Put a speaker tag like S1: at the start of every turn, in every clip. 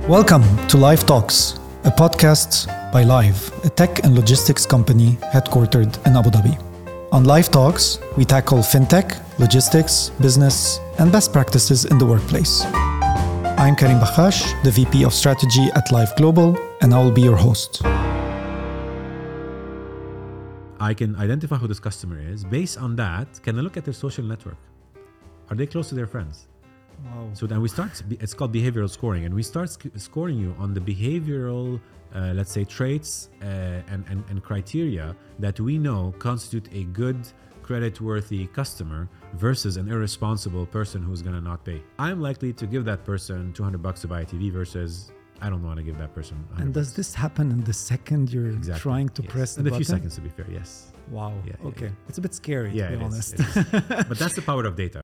S1: Welcome to Live Talks, a podcast by Live, a tech and logistics company headquartered in Abu Dhabi. On Live Talks, we tackle fintech, logistics, business, and best practices in the workplace. I'm Karim Bakhash, the VP of Strategy at Live Global, and I will be your host.
S2: I can identify who this customer is. Based on that, can I look at their social network? Are they close to their friends?
S1: Wow.
S2: So then we start, it's called behavioral scoring, and we start scoring you on the behavioral, let's say, traits and criteria that we know constitute a good, credit-worthy customer versus an irresponsible person who's going to not pay. I'm likely to give that person $200 to buy a TV versus I don't want to give that person $100.
S1: And does this happen in the second you're trying to press the button?
S2: In a few seconds, to be fair, yes.
S1: Wow.
S2: Yeah,
S1: okay.
S2: Yeah.
S1: It's a bit scary, to be honest.
S2: It is. But that's the power of data.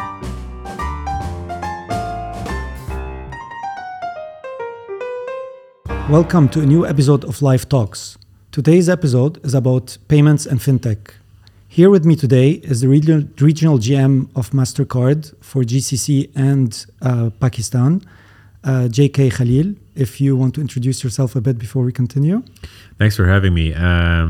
S1: Welcome to a new episode of Live Talks. Today's episode is about payments and fintech. Here with me today is the regional GM of MasterCard for GCC and Pakistan, JK Khalil. If you want to introduce yourself a bit before we continue.
S2: Thanks for having me. I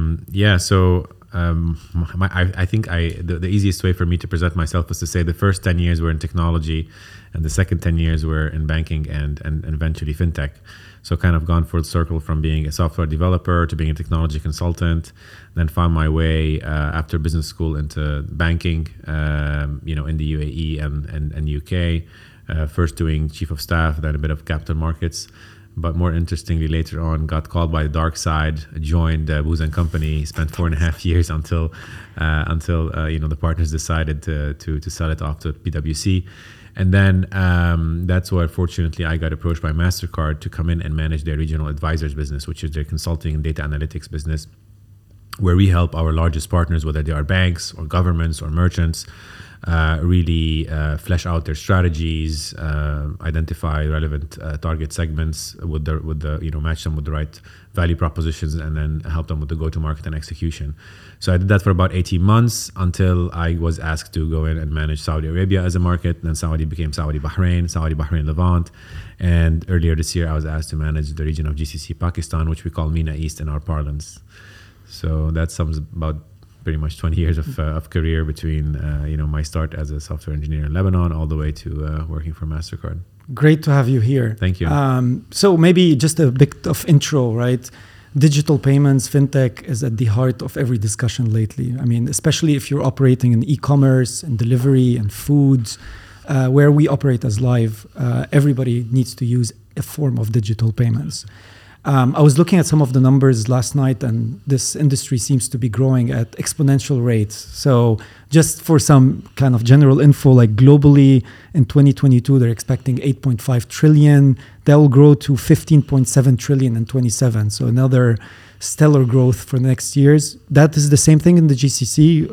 S2: think the easiest way for me to present myself is to say the first 10 years were in technology and the second 10 years were in banking and eventually fintech. So kind of gone full circle from being a software developer to being a technology consultant, then found my way after business school into banking, in the UAE and UK. First doing chief of staff, then a bit of capital markets. But more interestingly, later on, got called by the dark side, joined Booz & Company, spent 4.5 years until the partners decided to sell it off to PwC. And then that's where, fortunately, I got approached by MasterCard to come in and manage their regional advisors business, which is their consulting and data analytics business, where we help our largest partners, whether they are banks or governments or merchants, really flesh out their strategies, identify relevant target segments with the match them with the right value propositions, and then help them with the go-to-market and execution. So I did that for about 18 months until I was asked to go in and manage Saudi Arabia as a market. Then Saudi became Saudi Bahrain Levant. And earlier this year, I was asked to manage the region of GCC Pakistan, which we call MENA East in our parlance. So that sums about pretty much 20 years of career between my start as a software engineer in Lebanon all the way to working for MasterCard.
S1: Great to have you here.
S2: Thank you.
S1: So maybe just a bit of intro, right? Digital payments, fintech is at the heart of every discussion lately. I mean, especially if you're operating in e-commerce and delivery and foods, where we operate as Live, everybody needs to use a form of digital payments. I was looking at some of the numbers last night, and this industry seems to be growing at exponential rates. So just for some kind of general info, like globally in 2022, they're expecting 8.5 trillion. That will grow to 15.7 trillion in 27. So another stellar growth for the next years. That is the same thing in the GCC,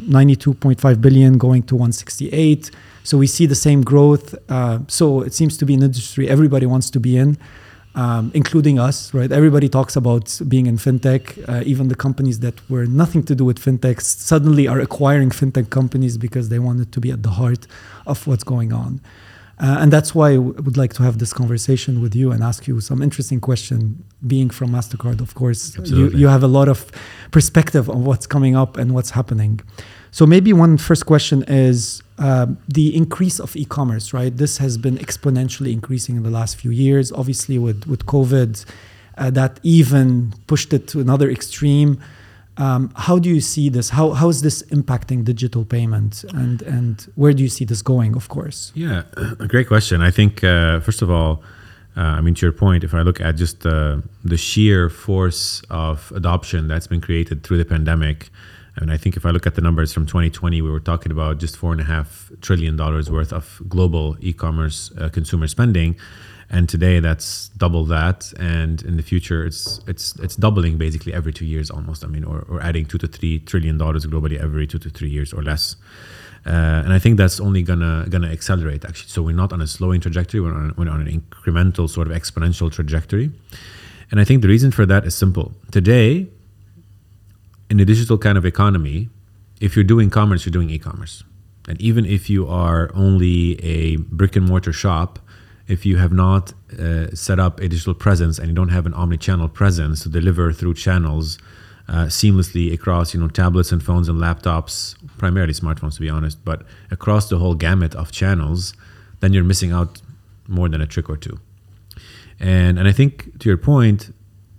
S1: 92.5 billion going to 168. So we see the same growth. So it seems to be an industry everybody wants to be in. Including us, right? Everybody talks about being in fintech. Even the companies that were nothing to do with fintech suddenly are acquiring fintech companies because they wanted to be at the heart of what's going on. And that's why I would like to have this conversation with you and ask you some interesting question. Being from MasterCard, of course, you have a lot of perspective on what's coming up and what's happening. So maybe one first question is the increase of e-commerce, right? This has been exponentially increasing in the last few years. Obviously, with COVID, that even pushed it to another extreme. How do you see this? How is this impacting digital payment? And where do you see this going, of course?
S2: Yeah, a great question. I think, first of all, to your point, if I look at just the sheer force of adoption that's been created through the pandemic, and I think if I look at the numbers from 2020, we were talking about just $4.5 trillion worth of global e-commerce consumer spending. And today that's double that. And in the future, it's doubling basically every 2 years almost. Or adding $2 to $3 trillion globally every 2 to 3 years or less. And I think that's only gonna accelerate actually. So we're not on a slowing trajectory, we're on an incremental sort of exponential trajectory. And I think the reason for that is simple. Today, in a digital kind of economy, if you're doing commerce, you're doing e-commerce. And even if you are only a brick and mortar shop, if you have not set up a digital presence and you don't have an omni-channel presence to deliver through channels seamlessly across, tablets and phones and laptops, primarily smartphones to be honest, but across the whole gamut of channels, then you're missing out more than a trick or two. And I think to your point,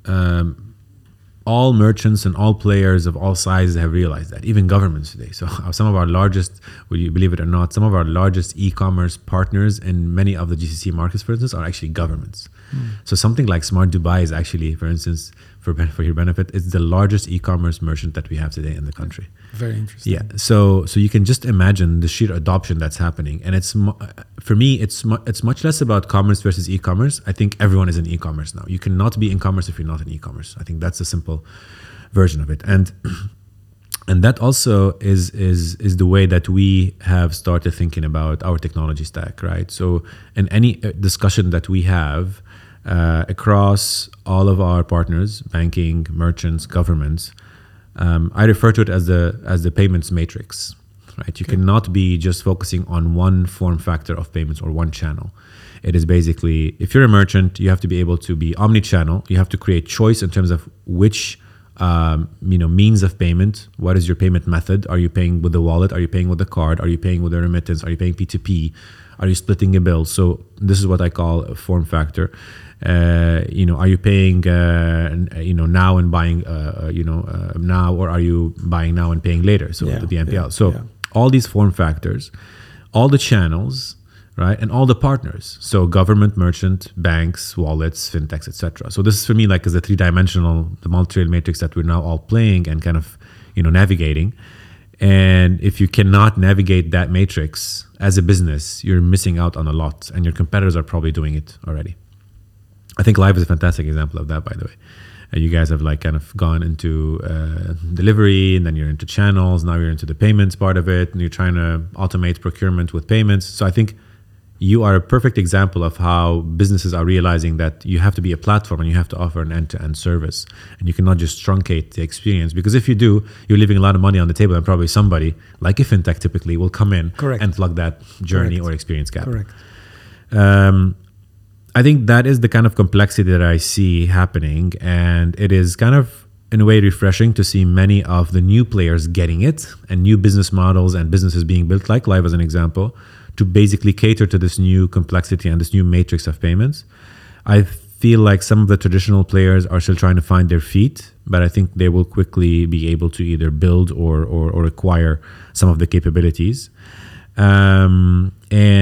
S2: all merchants and all players of all sizes have realized that, even governments today. So some of our largest, will you believe it or not, some of our largest e-commerce partners in many of the GCC markets, for instance, are actually governments. So something like Smart Dubai is actually, for instance, for your benefit, it's the largest e-commerce merchant that we have today in the country.
S1: Very interesting.
S2: Yeah. So you can just imagine the sheer adoption that's happening. And for me, it's much less about commerce versus e-commerce. I think everyone is in e-commerce now. You cannot be in commerce if you're not in e-commerce. I think that's a simple version of it. And that also is the way that we have started thinking about our technology stack, right? So in any discussion that we have across all of our partners, banking, merchants, governments, I refer to it as the payments matrix, right? You cannot be just focusing on one form factor of payments or one channel. It is basically, if you're a merchant, you have to be able to be omni-channel. You have to create choice in terms of which means of payment. What is your payment method? Are you paying with the wallet? Are you paying with the card? Are you paying with a remittance? Are you paying P2P? Are you splitting a bill? So this is what I call a form factor. Are you paying now and buying now, or are you buying now and paying later? So the BNPL. All these form factors, all the channels, right, and all the partners. So government, merchant, banks, wallets, fintechs, etc. So this is for me is the three-dimensional, the multi-rail matrix that we're now all playing and kind of navigating. And if you cannot navigate that matrix as a business, you're missing out on a lot, and your competitors are probably doing it already. I think Live is a fantastic example of that, by the way. You guys have kind of gone into delivery, and then you're into channels. Now you're into the payments part of it, and you're trying to automate procurement with payments. So I think you are a perfect example of how businesses are realizing that you have to be a platform and you have to offer an end-to-end service, and you cannot just truncate the experience, because if you do, you're leaving a lot of money on the table, and probably somebody like a fintech typically will come in and plug that journey or experience gap.
S1: Correct.
S2: I think that is the kind of complexity that I see happening, and it is kind of in a way refreshing to see many of the new players getting it, and new business models and businesses being built, like Live as an example, to basically cater to this new complexity and this new matrix of payments. I feel like some of the traditional players are still trying to find their feet, but I think they will quickly be able to either build or acquire some of the capabilities. And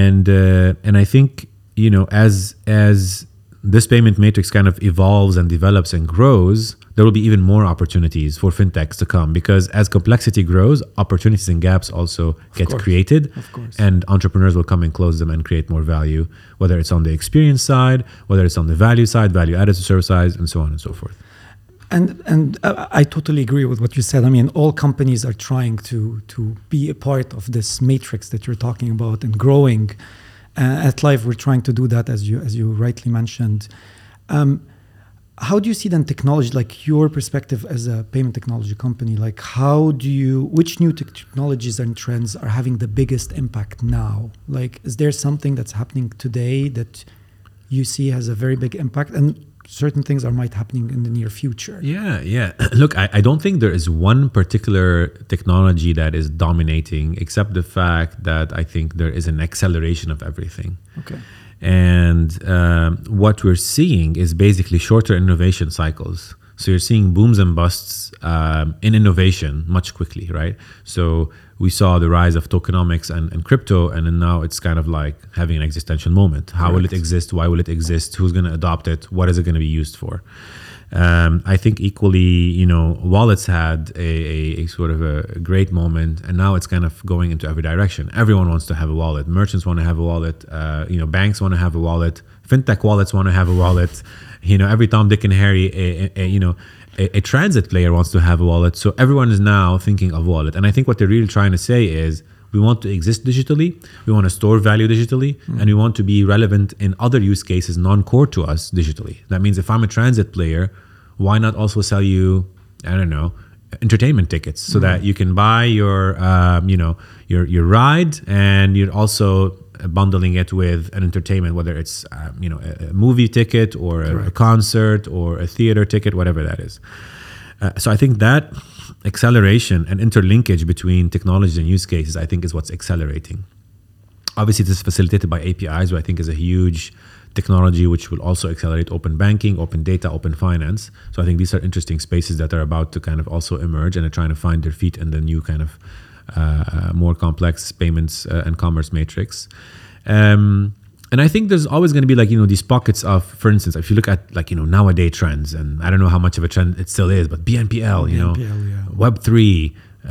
S2: I think, as this payment matrix kind of evolves and develops and grows, there will be even more opportunities for fintechs to come, because as complexity grows, opportunities and gaps also get created, and entrepreneurs will come and close them and create more value, whether it's on the experience side, whether it's on the value side, value added to service side, and so on and so forth.
S1: And I totally agree with what you said. I mean, all companies are trying to be a part of this matrix that you're talking about and growing. At Live, we're trying to do that, as you rightly mentioned. How do you see then technology, like your perspective as a payment technology company? Like, which new technologies and trends are having the biggest impact now? Like, is there something that's happening today that you see has a very big impact, and certain things might happening in the near future?
S2: Yeah. Look, I don't think there is one particular technology that is dominating, except the fact that I think there is an acceleration of everything.
S1: Okay.
S2: And what we're seeing is basically shorter innovation cycles. So you're seeing booms and busts in innovation much quickly, right? So we saw the rise of tokenomics and crypto, and then now it's kind of like having an existential moment. How will it exist? Why will it exist? Who's going to adopt it? What is it going to be used for? I think equally, wallets had a sort of a great moment, and now it's kind of going into every direction. Everyone wants to have a wallet. Merchants want to have a wallet. Banks want to have a wallet. Fintech wallets want to have a wallet. Every Tom, Dick, and Harry, a transit player wants to have a wallet. So everyone is now thinking of wallet. And I think what they're really trying to say is, we want to exist digitally, we want to store value digitally, and we want to be relevant in other use cases non-core to us digitally. That means if I'm a transit player, why not also sell you, entertainment tickets, so that you can buy your ride, and you're also bundling it with an entertainment, whether it's a movie ticket or a concert or a theater ticket, whatever that is. So I think that acceleration and interlinkage between technologies and use cases, I think, is what's accelerating. Obviously, this is facilitated by APIs, which I think is a huge technology which will also accelerate open banking, open data, open finance. So I think these are interesting spaces that are about to kind of also emerge and are trying to find their feet in the new kind of more complex payments and commerce matrix. And I think there's always going to be these pockets of, for instance, if you look at nowadays trends, and I don't know how much of a trend it still is, but BNPL, Web3,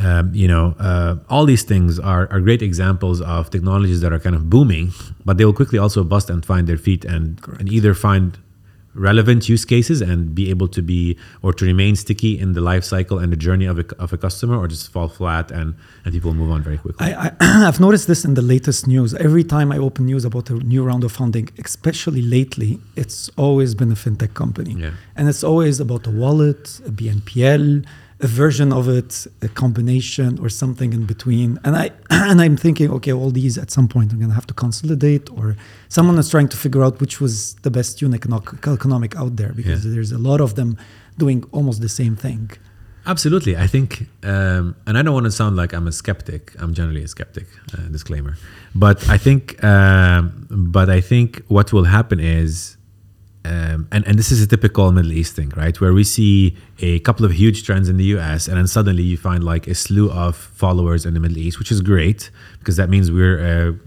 S2: all these things are great examples of technologies that are kind of booming, but they will quickly also bust and find their feet and either find relevant use cases and be able to be or to remain sticky in the life cycle and the journey of a customer, or just fall flat and people move on very quickly.
S1: I've noticed this in the latest news. Every time I open news about a new round of funding, especially lately, it's always been a fintech company.
S2: Yeah.
S1: And it's always about a wallet, a BNPL, a version of it, a combination or something in between. And I'm thinking, okay, all these at some point I'm going to have to consolidate, or someone is trying to figure out which was the best unit economic out there, because there's a lot of them doing almost the same thing.
S2: Absolutely. I think, and I don't want to sound like I'm a skeptic. I'm generally a skeptic, disclaimer. But I think what will happen is, and this is a typical Middle East thing, right? Where we see a couple of huge trends in the US, and then suddenly you find like a slew of followers in the Middle East, which is great, because that means we're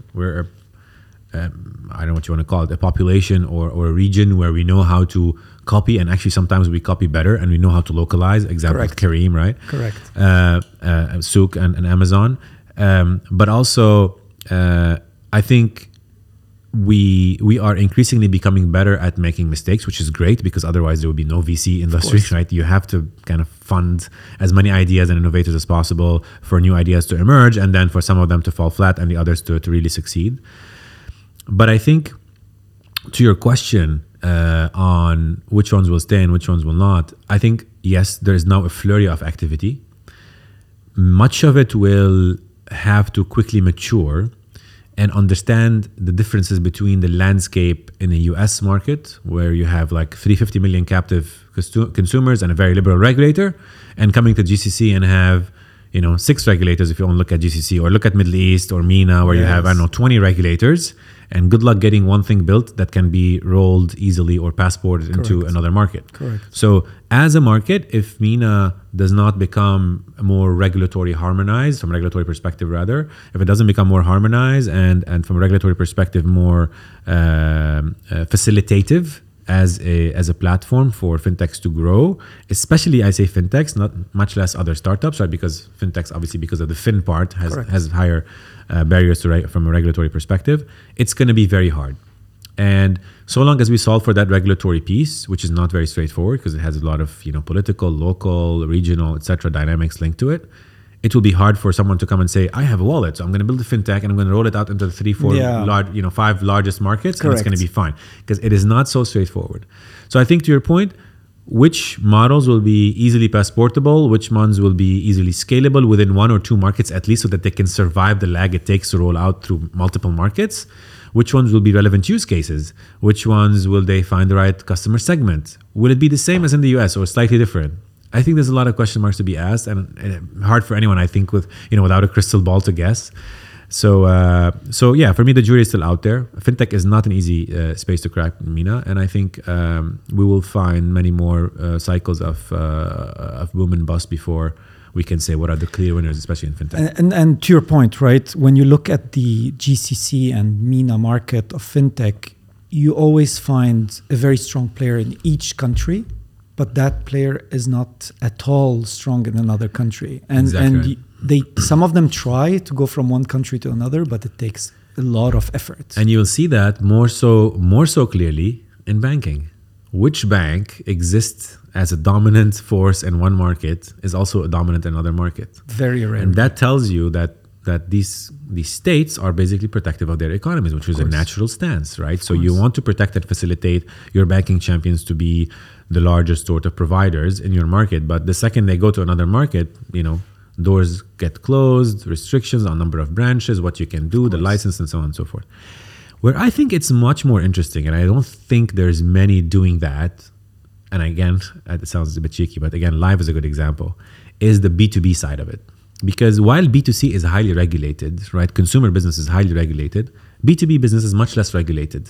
S2: I don't know what you want to call it, a population or a region where we know how to copy, and actually sometimes we copy better, and we know how to localize. Example, Careem, right?
S1: Correct.
S2: Souk and Amazon. But also, I think we are increasingly becoming better at making mistakes, which is great, because otherwise there would be no VC industry, right? You have to kind of fund as many ideas and innovators as possible for new ideas to emerge, and then for some of them to fall flat and the others to really succeed. But I think, to your question on which ones will stay and which ones will not, I think, yes, there is now a flurry of activity. Much of it will have to quickly mature and understand the differences between the landscape in the US market, where you have like 350 million captive consumers and a very liberal regulator, and coming to GCC and have 6 regulators if you want to look at GCC, or look at Middle East or MENA, where you have 20 regulators, and good luck getting one thing built that can be rolled easily or passported into another market.
S1: Correct.
S2: So as a market, if MENA does not become more regulatory harmonized, from a regulatory perspective rather, if it doesn't become more harmonized and from a regulatory perspective more facilitative as a platform for fintechs to grow, especially I say fintechs, not much less other startups, right? Because fintechs, obviously, because of the fin part, has higher barriers from a regulatory perspective. It's going to be very hard. And so long as we solve for that regulatory piece, which is not very straightforward because it has a lot of political, local, regional, etc. dynamics linked to it, it will be hard for someone to come and say, I have a wallet, so I'm going to build a fintech and I'm going to roll it out into the 5 largest markets, and it's going to be fine, because it is not so straightforward. So I think, to your point, which models will be easily passportable, which ones will be easily scalable within 1 or 2 markets at least, so that they can survive the lag it takes to roll out through multiple markets, which ones will be relevant use cases, which ones will they find the right customer segment, will it be the same as in the US or slightly different? I think there's a lot of question marks to be asked, and hard for anyone, I think, without a crystal ball to guess. So yeah, for me, the jury is still out there. Fintech is not an easy space to crack in MENA, and I think we will find many more cycles of boom and bust before we can say what are the clear winners, especially in fintech.
S1: And to your point, right, when you look at the GCC and MENA market of fintech, you always find a very strong player in each country, but that player is not at all strong in another country. And some of them try to go from one country to another, but it takes a lot of effort.
S2: And you'll see that more so clearly in banking. Which bank exists as a dominant force in one market is also a dominant in another market.
S1: Very rare.
S2: And that tells you that these states are basically protective of their economies, which is a natural stance, right? So you want to protect and facilitate your banking champions to be the largest sort of providers in your market. But the second they go to another market, Doors get closed, restrictions on number of branches, what you can do, the license, and so on and so forth. Where I think it's much more interesting, and I don't think there's many doing that, and again, it sounds a bit cheeky, but again, live is a good example, is the B2B side of it. Because while B2C is highly regulated, right, consumer business is highly regulated, B2B business is much less regulated.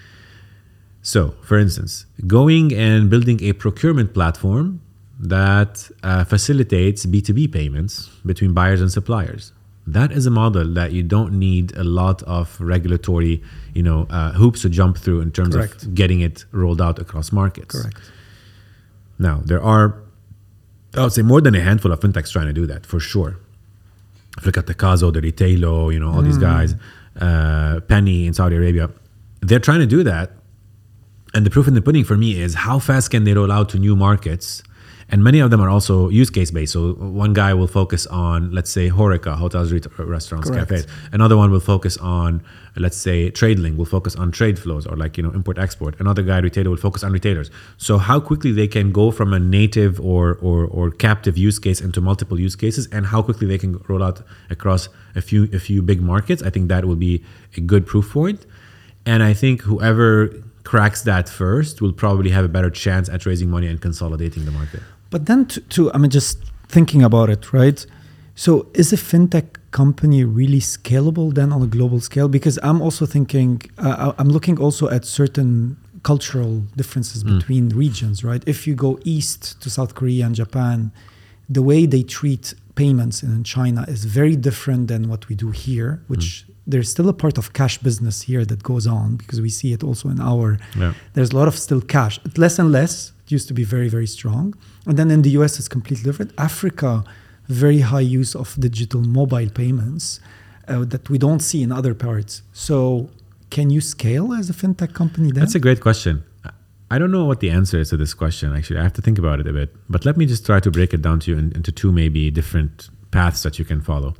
S2: So, for instance, going and building a procurement platform that facilitates B2B payments between buyers and suppliers. That is a model that you don't need a lot of regulatory, hoops to jump through in terms of getting it rolled out across markets.
S1: Correct.
S2: Now, there are, I would say, more than a handful of fintechs trying to do that, for sure. If you look at the Kazo, the Retailo, all these guys, Penny in Saudi Arabia, they're trying to do that. And the proof in the pudding for me is how fast can they roll out to new markets? And many of them are also use case based. So one guy will focus on, let's say, HoReCa, hotels, restaurants, cafes. Another one will focus on, let's say, TradeLink will focus on trade flows or import export. Another guy, retailer, will focus on retailers. So how quickly they can go from a native or captive use case into multiple use cases, and how quickly they can roll out across a few big markets, I think that will be a good proof point. And I think whoever cracks that first will probably have a better chance at raising money and consolidating the market.
S1: But then just thinking about it, right? So is a fintech company really scalable then on a global scale? Because I'm also thinking, I'm looking also at certain cultural differences between regions, right? If you go east to South Korea and Japan, the way they treat payments in China is very different than what we do here, which there's still a part of cash business here that goes on because we see it also in there's a lot of still cash, less and less. It used to be very, very strong. And then in the US, it's completely different. Africa, very high use of digital mobile payments that we don't see in other parts. So can you scale as a fintech company then?
S2: That's a great question. I don't know what the answer is to this question, actually. I have to think about it a bit. But let me just try to break it down to you into two maybe different paths that you can follow.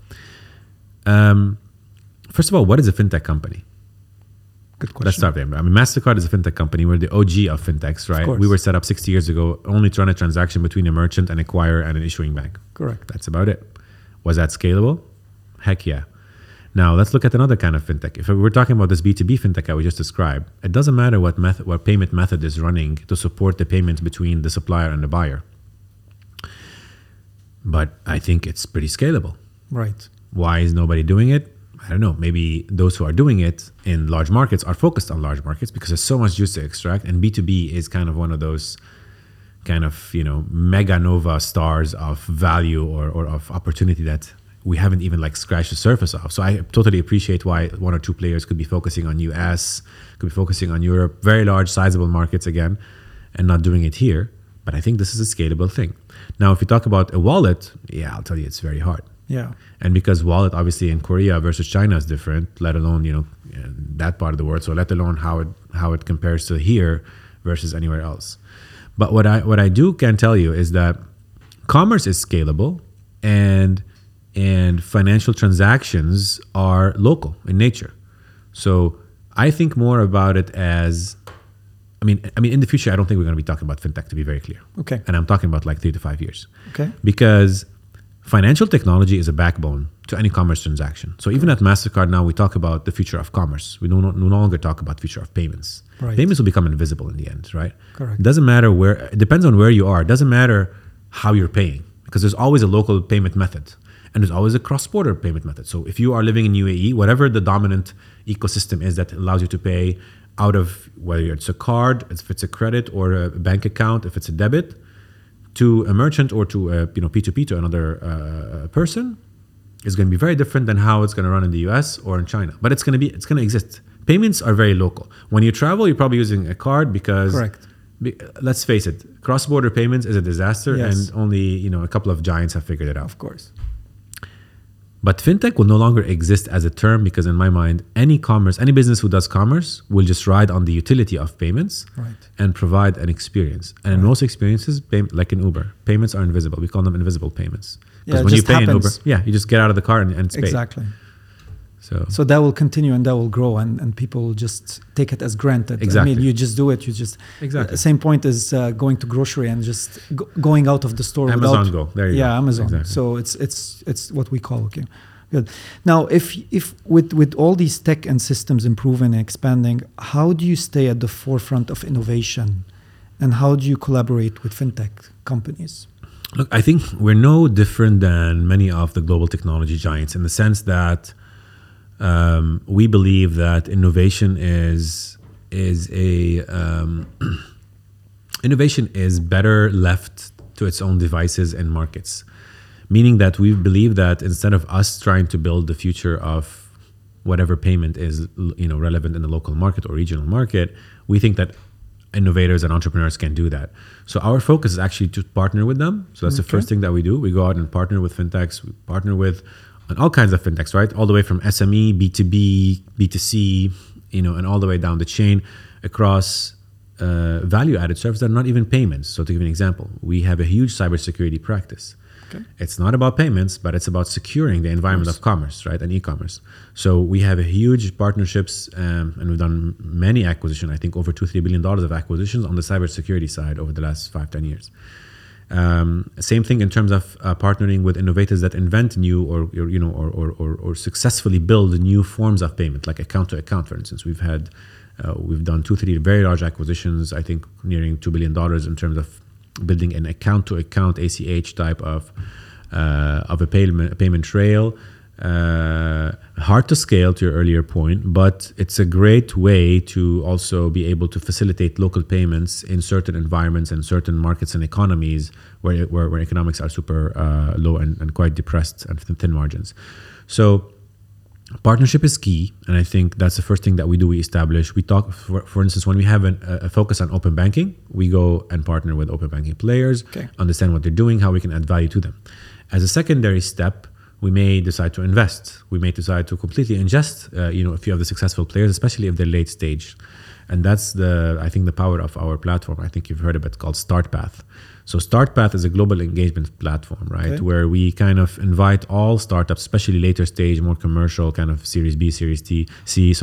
S2: First of all, what is a fintech company?
S1: Good question.
S2: Let's start there. MasterCard is a fintech company. We're the OG of fintechs, right? We were set up 60 years ago only to run a transaction between a merchant, an acquirer, and an issuing bank.
S1: Correct.
S2: That's about it. Was that scalable? Heck yeah. Now, let's look at another kind of fintech. If we're talking about this B2B fintech that we just described, it doesn't matter what payment method is running to support the payments between the supplier and the buyer. But I think it's pretty scalable.
S1: Right.
S2: Why is nobody doing it? I don't know. Maybe those who are doing it in large markets are focused on large markets because there's so much juice to extract. And B2B is kind of one of those kind of, mega nova stars of value or of opportunity that we haven't even scratched the surface of. So I totally appreciate why one or two players could be focusing on US, could be focusing on Europe, very large, sizable markets again, and not doing it here. But I think this is a scalable thing. Now, if you talk about a wallet, I'll tell you it's very hard.
S1: Yeah.
S2: And because wallet obviously in Korea versus China is different, let alone, that part of the world. So let alone how it compares to here versus anywhere else. But what I can tell you is that commerce is scalable and financial transactions are local in nature. So I think more about it as, I mean, in the future, I don't think we're going to be talking about fintech, to be very clear.
S1: Okay.
S2: And I'm talking about 3 to 5 years.
S1: Okay.
S2: Because financial technology is a backbone to any commerce transaction. So even at MasterCard now, we talk about the future of commerce. We no longer talk about future of payments.
S1: Right.
S2: Payments will become invisible in the end, right?
S1: Correct.
S2: It doesn't matter where, it depends on where you are. It doesn't matter how you're paying because there's always a local payment method and there's always a cross-border payment method. So if you are living in UAE, whatever the dominant ecosystem is that allows you to pay out of, whether it's a card, if it's a credit or a bank account, if it's a debit, to a merchant or to a P2P to another person is going to be very different than how it's going to run in the US or in China. But it's going to exist. Payments are very local. When you travel, you're probably using a card because,
S1: correct.
S2: Let's face it, cross-border payments is a disaster,
S1: Yes.
S2: and only a couple of giants have figured it out.
S1: Of course.
S2: But fintech will no longer exist as a term because in my mind, any business who does commerce will just ride on the utility of payments and provide an experience. And in most experiences, like in Uber, payments are invisible. We call them invisible payments. Because when you pay in Uber, you just get out of the car and it's paid.
S1: Exactly. So that will continue and that will grow, and people will just take it as granted.
S2: Exactly.
S1: I mean, you just do it. You just
S2: Exactly.
S1: Same point as going to grocery and just going out of the store.
S2: Amazon Go. There you go.
S1: Yeah, Amazon.
S2: Exactly.
S1: So it's what we call. Okay, good. Now, if with all these tech and systems improving and expanding, how do you stay at the forefront of innovation, and how do you collaborate with fintech companies?
S2: Look, I think we're no different than many of the global technology giants in the sense that we believe that innovation is better left to its own devices and markets. Meaning that we believe that instead of us trying to build the future of whatever payment is, relevant in the local market or regional market, we think that innovators and entrepreneurs can do that. So our focus is actually to partner with them. So that's the first thing that we do. We go out and partner with fintechs. We partner with all kinds of fintechs, right? All the way from SME, B2B, B2C, and all the way down the chain across value-added services that are not even payments. So to give an example, we have a huge cybersecurity practice. Okay. It's not about payments, but it's about securing the environment of commerce, right, and e-commerce. So we have a huge partnerships, and we've done many acquisitions. I think over $2-3 billion of acquisitions on the cybersecurity side over the last 5-10 years. Same thing in terms of partnering with innovators that invent new or successfully build new forms of payment, like account to account, for instance. We've done 2-3 very large acquisitions. I think nearing $2 billion in terms of building an account to account ACH type of a payment trail. Hard to scale, to your earlier point, but it's a great way to also be able to facilitate local payments in certain environments and certain markets and economies where economics are super low and quite depressed and thin margins. So partnership is key, and I think that's the first thing that we do. We establish. We talk, for instance, when we have a focus on open banking, we go and partner with open banking players, understand what they're doing, how we can add value to them. As a secondary step, we may decide to invest. We may decide to completely ingest, a few of the successful players, especially if they're late stage. And that's I think the power of our platform. I think you've heard of it, called StartPath. So StartPath is a global engagement platform, right? Okay. Where we kind of invite all startups, especially later stage, more commercial kind of Series B, Series C,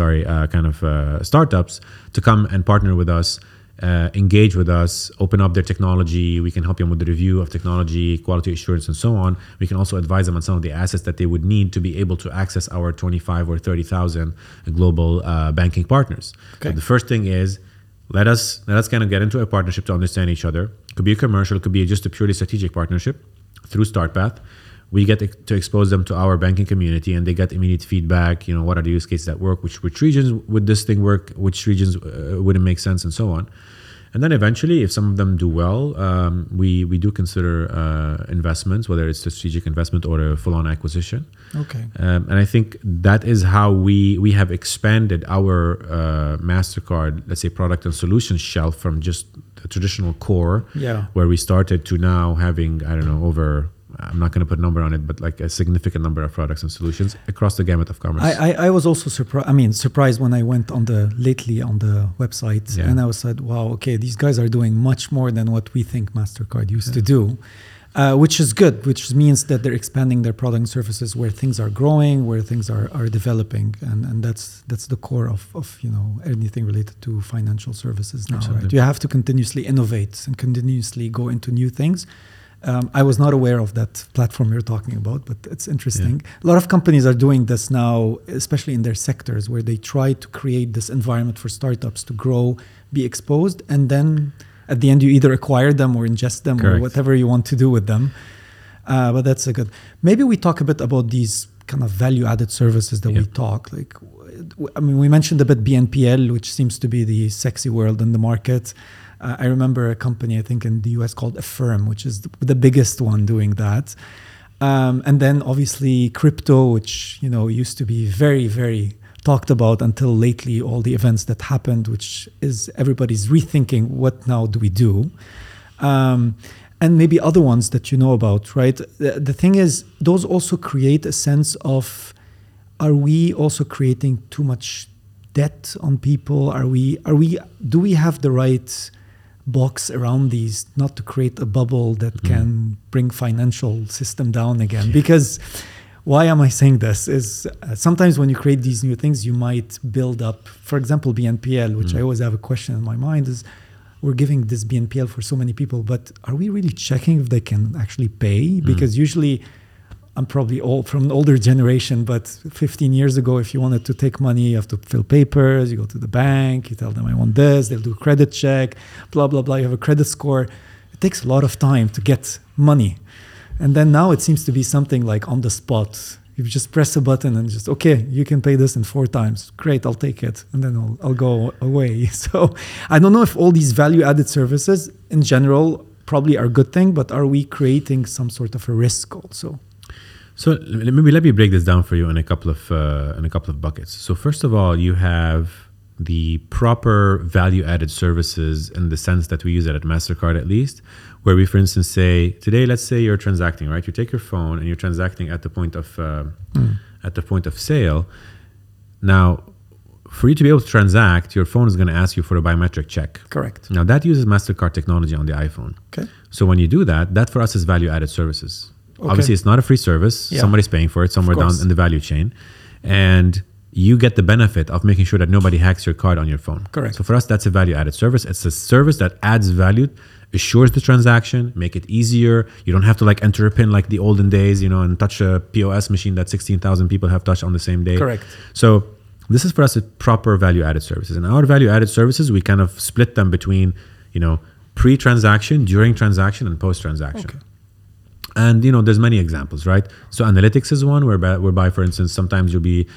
S2: startups to come and partner with us, engage with us, open up their technology. We can help them with the review of technology, quality assurance, and so on. We can also advise them on some of the assets that they would need to be able to access our 25 or 30,000 global banking partners. Okay. So the first thing is, let us kind of get into a partnership to understand each other. Could be a commercial, could be just a purely strategic partnership through StartPath. We get to expose them to our banking community, and they get immediate feedback. What are the use cases that work? Which regions would this thing work? Which regions wouldn't make sense, and so on. And then eventually, if some of them do well, we do consider investments, whether it's a strategic investment or a full-on acquisition. Okay. And I think that is how we have expanded our MasterCard, let's say, product and solutions shelf from just the traditional core, where we started, to now having, over, I'm not going to put a number on it, but like a significant number of products and solutions across the gamut of commerce.
S1: I was also surprised when I went on the website, and I was said, wow, okay, these guys are doing much more than what we think MasterCard used to do, which is good, which means that they're expanding their product and services where things are growing, where things are developing, and that's the core of anything related to financial services now. Absolutely. Right? You have to continuously innovate and continuously go into new things. I was not aware of that platform you're talking about, but it's interesting. Yeah. A lot of companies are doing this now, especially in their sectors, where they try to create this environment for startups to grow, be exposed, and then at the end you either acquire them or ingest them. Correct. Or whatever you want to do with them. But that's a good. Maybe we talk a bit about these kind of value-added services that we talk. We mentioned a bit BNPL, which seems to be the sexy world in the market. I remember a company, I think in the US, called Affirm, which is the biggest one doing that. And then obviously crypto, which used to be very, very talked about until lately, all the events that happened, which is everybody's rethinking what now do we do. And maybe other ones that you know about, right? The thing is, those also create a sense of, are we also creating too much debt on people? Do we have the right box around these, not to create a bubble that can bring financial system down again? Because why am I saying this? Is sometimes when you create these new things, you might build up, for example, BNPL, which I always have a question in my mind is, we're giving this BNPL for so many people, but are we really checking if they can actually pay? Because usually, I'm probably from an older generation, but 15 years ago, if you wanted to take money, you have to fill papers, you go to the bank, you tell them I want this, they'll do a credit check, blah, blah, blah. You have a credit score. It takes a lot of time to get money. And then now it seems to be something like on the spot. You just press a button and just, okay, you can pay this in 4 times. Great, I'll take it. And then I'll go away. So I don't know if all these value-added services in general probably are a good thing, but are we creating some sort of a risk also?
S2: So let me break this down for you in a couple of buckets. So first of all, you have the proper value-added services in the sense that we use it at MasterCard at least, where we, for instance, say today, let's say you're transacting, right? You take your phone and you're transacting at the point of sale. Now, for you to be able to transact, your phone is going to ask you for a biometric check.
S1: Correct.
S2: Now that uses MasterCard technology on the iPhone.
S1: Okay.
S2: So when you do that, that for us is value-added services.
S1: Okay.
S2: Obviously, it's not a free service.
S1: Yeah.
S2: Somebody's paying for it somewhere down in the value chain. And you get the benefit of making sure that nobody hacks your card on your phone.
S1: Correct.
S2: So for us, that's a value-added service. It's a service that adds value, assures the transaction, make it easier. You don't have to like enter a PIN like the olden days, and touch a POS machine that 16,000 people have touched on the same day.
S1: Correct.
S2: So this is for us a proper value-added services. And our value-added services, we kind of split them between, pre-transaction, during transaction, and post-transaction.
S1: Okay.
S2: And there's many examples, right? So analytics is one whereby, for instance, sometimes you'll be,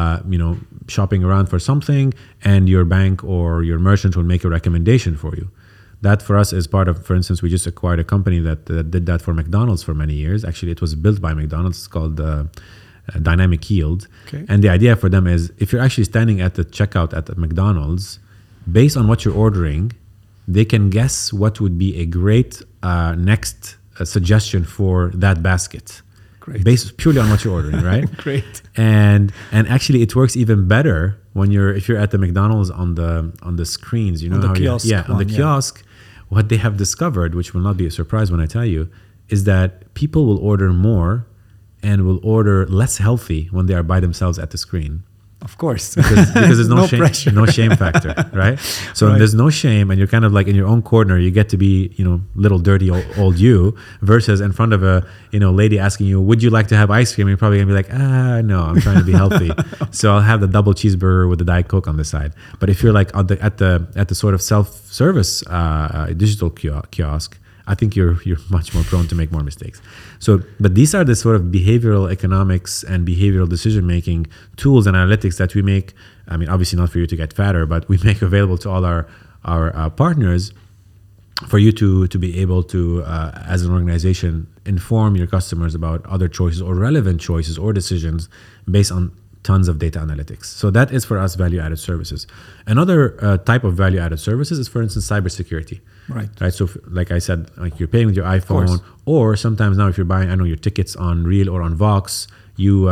S2: shopping around for something, and your bank or your merchant will make a recommendation for you. That for us is part of, for instance, we just acquired a company that did that for McDonald's for many years. Actually, it was built by McDonald's. It's called Dynamic Yield.
S1: Okay.
S2: And the idea for them is if you're actually standing at the checkout at the McDonald's, based on what you're ordering, they can guess what would be a great next suggestion for that basket.
S1: Great.
S2: Based purely on what you're ordering, right?
S1: Great.
S2: And actually it works even better when if you're at the McDonald's on the screens,
S1: On the
S2: kiosk. What they have discovered, which will not be a surprise when I tell you, is that people will order more and will order less healthy when they are by themselves at the screen.
S1: Of course.
S2: Because there's no shame,
S1: pressure.
S2: no shame factor, right? So
S1: Right.
S2: there's no shame, and you're kind of like in your own corner. You get to be, little dirty old you, versus in front of a, lady asking you, "Would you like to have ice cream?" You're probably gonna be like, no, I'm trying to be healthy, so I'll have the double cheeseburger with the Diet Coke on the side. But if you're like at the sort of self-service digital kiosk, I think you're much more prone to make more mistakes. So, but these are the sort of behavioral economics and behavioral decision-making tools and analytics that we make. I mean, obviously not for you to get fatter, but we make available to all our partners for you to be able to, as an organization, inform your customers about other choices or relevant choices or decisions based on tons of data analytics. So that is for us value-added services. Another type of value-added services is, for instance, cybersecurity.
S1: Right.
S2: So like I said, like you're paying with your iPhone, or sometimes now if you're buying, your tickets on Reel or on Vox, you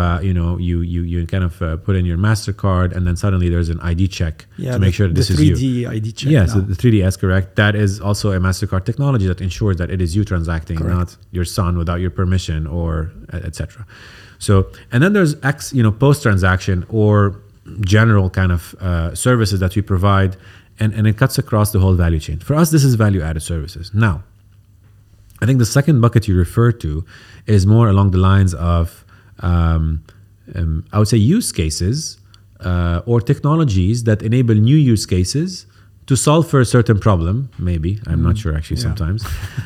S2: kind of put in your MasterCard, and then suddenly there's an ID check to make sure that this is you.
S1: The 3D ID check.
S2: Yes, the 3DS, correct. That is also a MasterCard technology that ensures that it is you transacting,
S1: Correct.
S2: not your son without your permission or etc. So, and then there's post-transaction or general kind of services that we provide, and it cuts across the whole value chain. For us, this is value-added services. Now, I think the second bucket you referred to is more along the lines of, I would say, use cases or technologies that enable new use cases to solve for a certain problem, maybe. I'm not sure actually sometimes.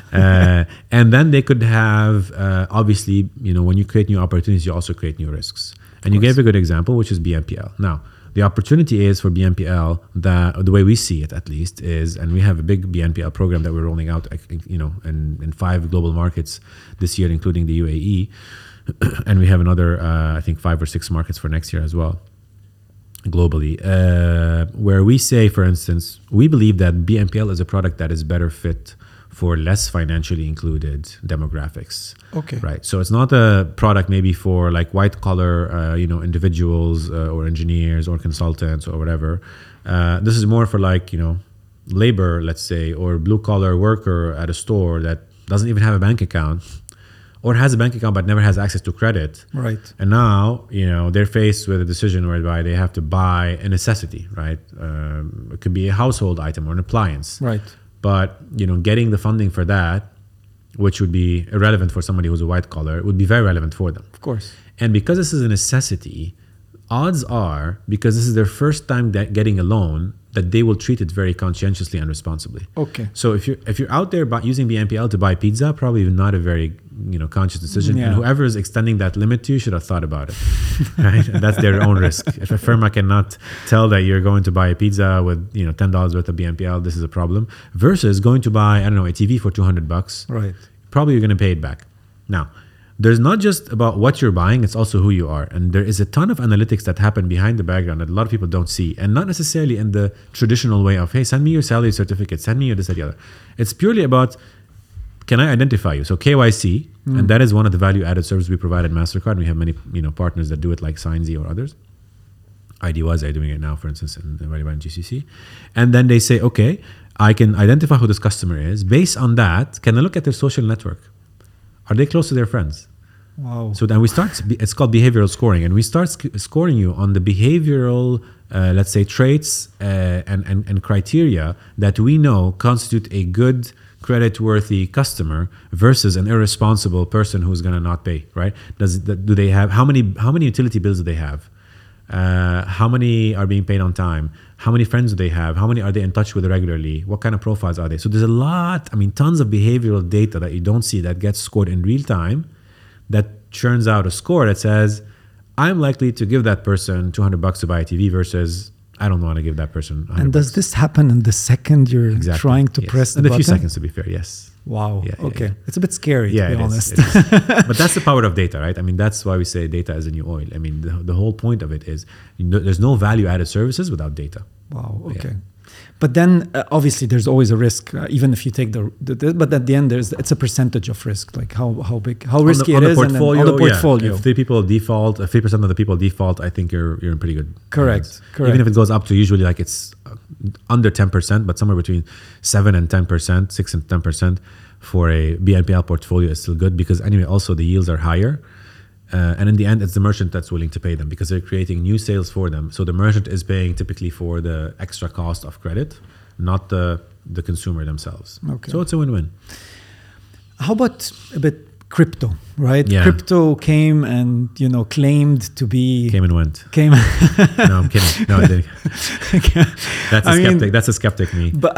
S2: And then they could have, obviously, when you create new opportunities, you also create new risks. And you gave a good example, which is BNPL. Now, the opportunity is for BNPL, that the way we see it at least is, and we have a big BNPL program that we're rolling out, in 5 global markets this year, including the UAE. And we have another, I think 5 or 6 markets for next year as well, globally, where we say, for instance, we believe that BNPL is a product that is better fit for less financially included demographics.
S1: Okay.
S2: Right. So it's not a product maybe for like white collar, individuals or engineers or consultants or whatever. This is more for like, labor, let's say, or blue collar worker at a store that doesn't even have a bank account, or has a bank account but never has access to credit.
S1: Right.
S2: And now, they're faced with a decision whereby they have to buy a necessity, right? It could be a household item or an appliance.
S1: Right.
S2: But, getting the funding for that, which would be irrelevant for somebody who's a white collar, would be very relevant for them.
S1: Of course.
S2: And because this is a necessity, odds are, because this is their first time getting a loan, that they will treat it very conscientiously and responsibly.
S1: Okay.
S2: So if you're out there using BNPL to buy pizza, probably not a very conscious decision.
S1: Yeah.
S2: And whoever is extending that limit to you should have thought about it, right? And that's their own risk. If a firm cannot tell that you're going to buy a pizza with $10 worth of BNPL, this is a problem. Versus going to buy a TV for $200.
S1: Right.
S2: Probably you're going to pay it back. Now, there's not just about what you're buying, it's also who you are. And there is a ton of analytics that happen behind the background that a lot of people don't see. And not necessarily in the traditional way of, hey, send me your salary certificate, send me your this, that, the other. It's purely about, can I identify you? So KYC, and that is one of the value-added services we provide at MasterCard. We have many partners that do it like SignZ or others. IDWise are doing it now, for instance, in GCC. And then they say, okay, I can identify who this customer is. Based on that, can I look at their social network? Are they close to their friends?
S1: Wow.
S2: So then we start, it's called behavioral scoring, and we start scoring you on the behavioral, let's say, traits and criteria that we know constitute a good, credit-worthy customer versus an irresponsible person who's going to not pay, right? Do they have, how many utility bills do they have? How many are being paid on time? How many friends do they have? How many are they in touch with regularly? What kind of profiles are they? So there's tons of behavioral data that you don't see that gets scored in real time that churns out a score that says, I'm likely to give that person $200 to buy a TV versus I don't want to give that person $100.
S1: And does this happen in the second you're trying to press the
S2: button? In a few
S1: button?
S2: seconds, to be fair, yes.
S1: Wow.
S2: Yeah,
S1: okay.
S2: yeah.
S1: It's a bit scary, to be honest.
S2: It is. But that's the power of data, right? That's why we say data is the new oil. The whole point of it is there's no value-added services without data.
S1: Wow. Okay.
S2: Yeah.
S1: But then obviously there's always a risk, even if you take but at the end it's a percentage of risk, like how big, how risky it is, and then on the portfolio.
S2: Yeah. If 3% of the people default, I think you're in pretty good.
S1: Correct.
S2: Even if it goes up to usually it's under 10%, but somewhere between 7 and 10%, 6 and 10% for a BNPL portfolio is still good because anyway, also the yields are higher. And in the end, it's the merchant that's willing to pay them because they're creating new sales for them. So the merchant is paying typically for the extra cost of credit, not the consumer themselves.
S1: Okay.
S2: So it's a win-win.
S1: How about a bit crypto, right?
S2: Yeah.
S1: Crypto came and claimed to be
S2: came and went.
S1: No,
S2: I'm kidding. No, I didn't. That's a skeptic me.
S1: But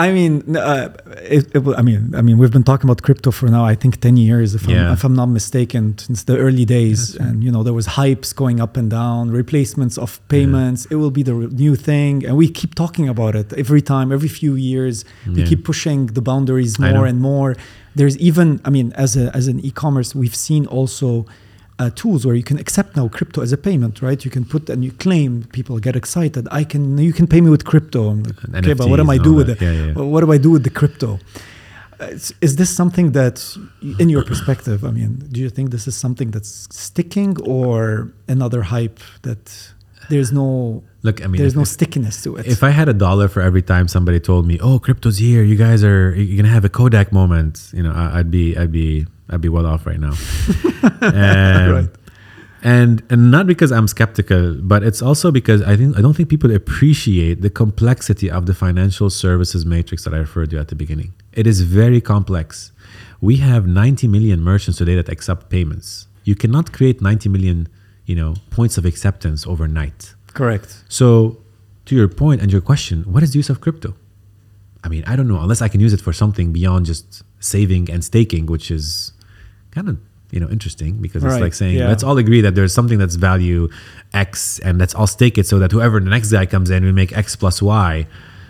S1: we've been talking about crypto for now, I think 10 years, if I'm not mistaken, since the early days. Right. And there was hypes going up and down, replacements of payments. It will be the new thing, and we keep talking about it every time, every few years. We keep pushing the boundaries more and more. There's even, as an e-commerce, we've seen also tools where you can accept now crypto as a payment, right? You can put and you claim, people get excited. You can pay me with crypto. I'm like, okay, but what am I do with it? What do I do with the crypto? Is this something that, in your perspective, do you think this is something that's sticking or another hype that there's no...
S2: Look,
S1: there's no stickiness to it.
S2: If I had $1 for every time somebody told me, "Oh, crypto's here, you're gonna have a Kodak moment," I'd be well off right now.
S1: Right.
S2: And not because I'm skeptical, but it's also because I don't think people appreciate the complexity of the financial services matrix that I referred to at the beginning. It is very complex. We have 90 million merchants today that accept payments. You cannot create 90 million, points of acceptance overnight.
S1: Correct.
S2: So, to your point and your question, what is the use of crypto? I don't know, unless I can use it for something beyond just saving and staking, which is kind of, interesting because it's like saying, let's all agree that there's something that's value X and let's all stake it so that whoever the next guy comes in, we make X plus Y.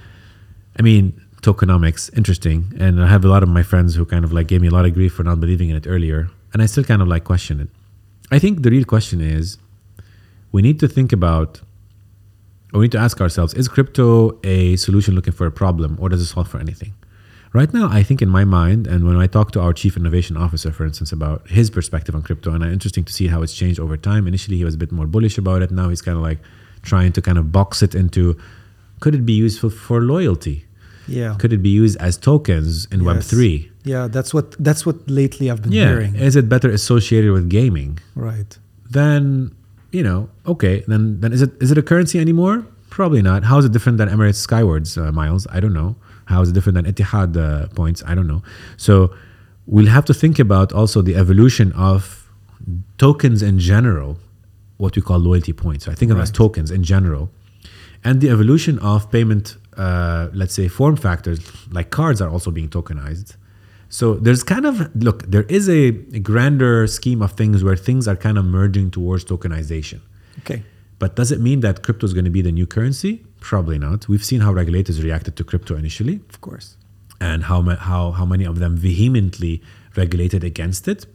S2: Tokenomics, interesting. And I have a lot of my friends who kind of gave me a lot of grief for not believing in it earlier. And I still kind of question it. I think the real question is, we need to think about, or we need to ask ourselves, is crypto a solution looking for a problem, or does it solve for anything? Right now, I think in my mind, and when I talk to our chief innovation officer, for instance, about his perspective on crypto, and it's interesting to see how it's changed over time. Initially, he was a bit more bullish about it. Now he's kind of trying to kind of box it into, could it be useful for loyalty?
S1: Yeah.
S2: Could it be used as tokens in Web3?
S1: Yeah, that's what lately I've been hearing.
S2: Is it better associated with gaming?
S1: Right.
S2: Then, okay, then is it a currency anymore? Probably not. How is it different than Emirates Skywards miles? I don't know. How is it different than Etihad points? I don't know. So we'll have to think about also the evolution of tokens in general, what we call loyalty points. So I think of them as tokens in general, and the evolution of payment, let's say form factors like cards are also being tokenized. So there's there is a grander scheme of things where things are kind of merging towards tokenization.
S1: Okay.
S2: But does it mean that crypto is going to be the new currency? Probably not. We've seen how regulators reacted to crypto initially.
S1: Of course.
S2: And how many of them vehemently regulated against it,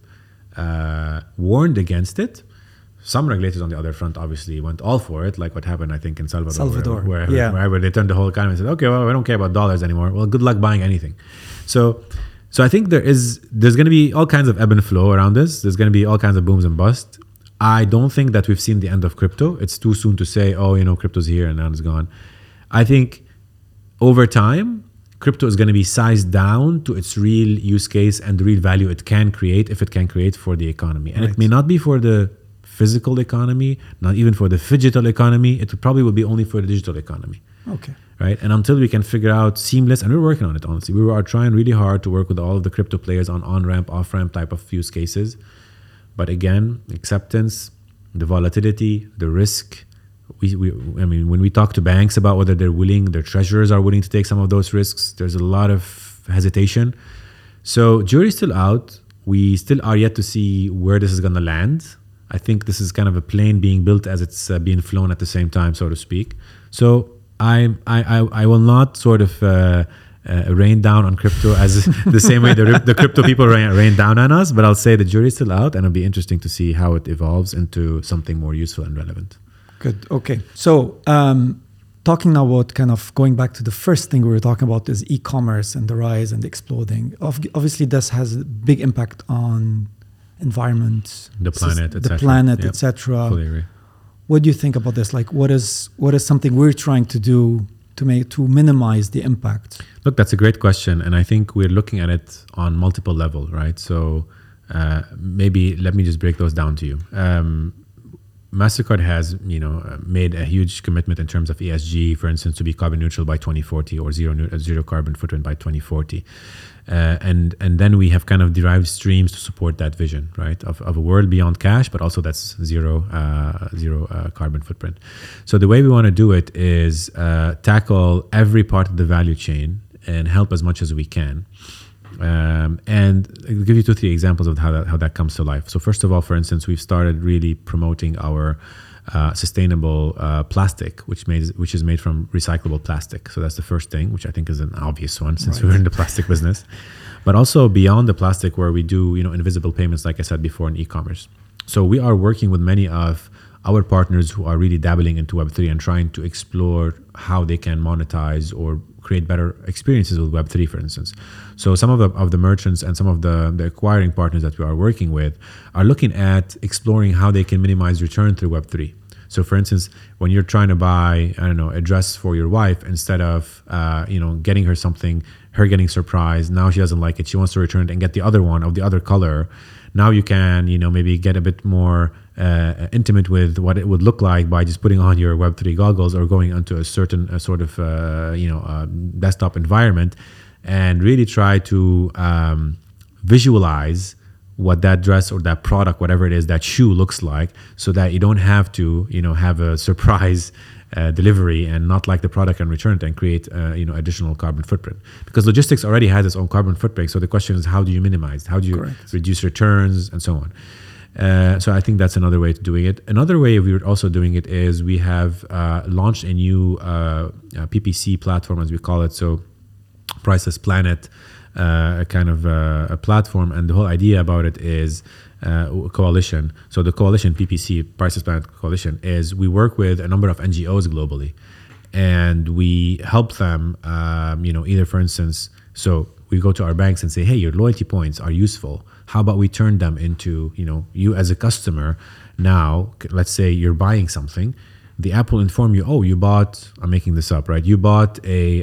S2: warned against it. Some regulators on the other front obviously went all for it, like what happened, I think, in Salvador. Where they turned the whole economy and said, okay, well, we don't care about dollars anymore. Well, good luck buying anything. So I think there's going to be all kinds of ebb and flow around this. There's going to be all kinds of booms and busts. I don't think that we've seen the end of crypto. It's too soon to say, crypto's here and now it's gone. I think over time, crypto is going to be sized down to its real use case and the real value it can create, if it can create for the economy. And it may not be for the physical economy, not even for the phygital economy. It probably will be only for the digital economy.
S1: Okay.
S2: Right? And until we can figure out seamless, and we're working on it, honestly. We are trying really hard to work with all of the crypto players on on-ramp, off-ramp type of use cases. But again, acceptance, the volatility, the risk. When we talk to banks about whether they're willing, their treasurers are willing to take some of those risks, there's a lot of hesitation. So jury's still out. We still are yet to see where this is going to land. I think this is kind of a plane being built as it's being flown at the same time, so to speak. So I will not sort of rain down on crypto as the same way the crypto people rain down on us, but I'll say the jury's still out, and it'll be interesting to see how it evolves into something more useful and relevant.
S1: Good. Okay. So talking now about kind of going back to the first thing we were talking about is e-commerce and the rise and the exploding. Obviously, this has a big impact on environment,
S2: the planet,
S1: etc.
S2: Fully agree.
S1: What do you think about this? Like, what is something we're trying to do to minimize the impact?
S2: Look, that's a great question, and I think we're looking at it on multiple levels, right? So maybe let me just break those down to you. MasterCard has, made a huge commitment in terms of ESG, for instance, to be carbon neutral by 2040 or zero carbon footprint by 2040. And then we have kind of derived streams to support that vision, right, of a world beyond cash, but also that's zero carbon footprint. So the way we want to do it is tackle every part of the value chain and help as much as we can. And I'll give you 2-3 examples of how that comes to life. So first of all, for instance, we've started really promoting our sustainable plastic, which is made from recyclable plastic. So that's the first thing, which I think is an obvious one since we're in the plastic business. But also beyond the plastic, where we do invisible payments, like I said before, in e-commerce. So we are working with many of our partners who are really dabbling into Web3 and trying to explore how they can monetize or create better experiences with Web3, for instance. So some of the merchants and some of the acquiring partners that we are working with are looking at exploring how they can minimize return through Web3. So for instance, when you're trying to buy, a dress for your wife, instead of, getting her something, her getting surprised, now she doesn't like it, she wants to return it and get the other one of the other color. Now you can, maybe get a bit more intimate with what it would look like by just putting on your Web3 goggles or going onto a certain desktop environment and really try to visualize what that dress or that product, whatever it is, that shoe looks like, so that you don't have to, have a surprise delivery and not like the product and return it and create, additional carbon footprint. Because logistics already has its own carbon footprint. So the question is, how do you minimize? How do you reduce returns and so on? So I think that's another way to doing it. Another way we were also doing it is we have launched a new PPC platform, as we call it. So Priceless Planet, a kind of a platform, and the whole idea about it is coalition. So the coalition, PPC, Priceless Planet Coalition, is we work with a number of NGOs globally, and we help them, either, for instance, so we go to our banks and say, hey, your loyalty points are useful. How about we turn them into, you as a customer now, let's say you're buying something, the app will inform you, oh, you bought, I'm making this up, right? You bought a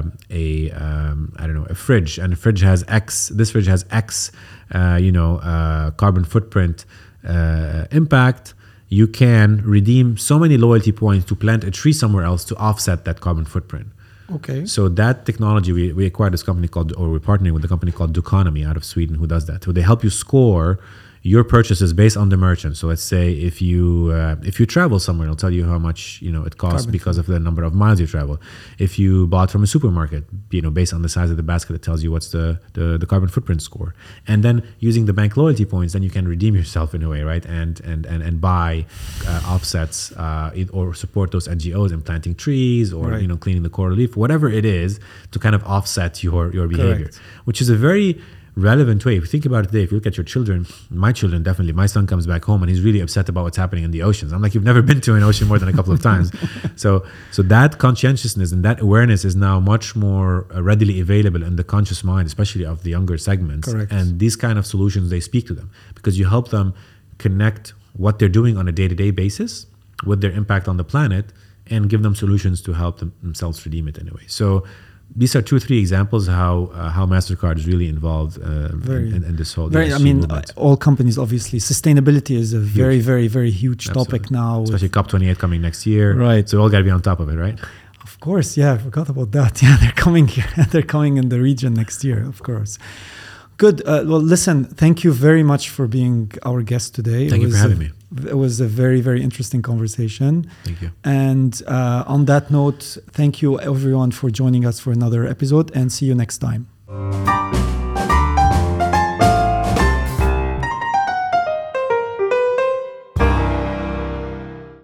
S2: fridge, and the fridge has X, this fridge has X, carbon footprint impact. You can redeem so many loyalty points to plant a tree somewhere else to offset that carbon footprint.
S1: Okay.
S2: So that technology, we acquired this company we're partnering with a company called Duconomy out of Sweden who does that. So they help you score your purchases based on the merchant. So let's say if you travel somewhere, it'll tell you how much it costs
S1: Carbon
S2: because of the number of miles you travel. If you bought from a supermarket, based on the size of the basket, it tells you what's the carbon footprint score. And then using the bank loyalty points, then you can redeem yourself in a way, right? And buy offsets or support those NGOs in planting trees or
S1: right.
S2: Cleaning the coral reef, whatever it is, to kind of offset your behavior,
S1: Correct.
S2: which is a very relevant way. If you think about it today, if you look at your children, my children definitely, my son comes back home and he's really upset about what's happening in the oceans. I'm like, you've never been to an ocean more than a couple of times. So that conscientiousness and that awareness is now much more readily available in the conscious mind, especially of the younger segments.
S1: Correct.
S2: And these kind of solutions, they speak to them because you help them connect what they're doing on a day-to-day basis with their impact on the planet and give them solutions to help themselves redeem it anyway. So these are 2 or 3 examples how MasterCard is really involved in this whole.
S1: All companies, obviously, sustainability is a very, very, very huge topic now.
S2: Especially COP28 coming next year.
S1: Right.
S2: So we all got to be on top of it, right?
S1: Of course, yeah, I forgot about that. Yeah, they're coming here. They're coming in the region next year, of course. Good. Well, listen, thank you very much for being our guest today.
S2: Thank you for having me.
S1: It was a very, very interesting conversation.
S2: Thank you.
S1: And on that note, thank you everyone for joining us for another episode, and see you next time.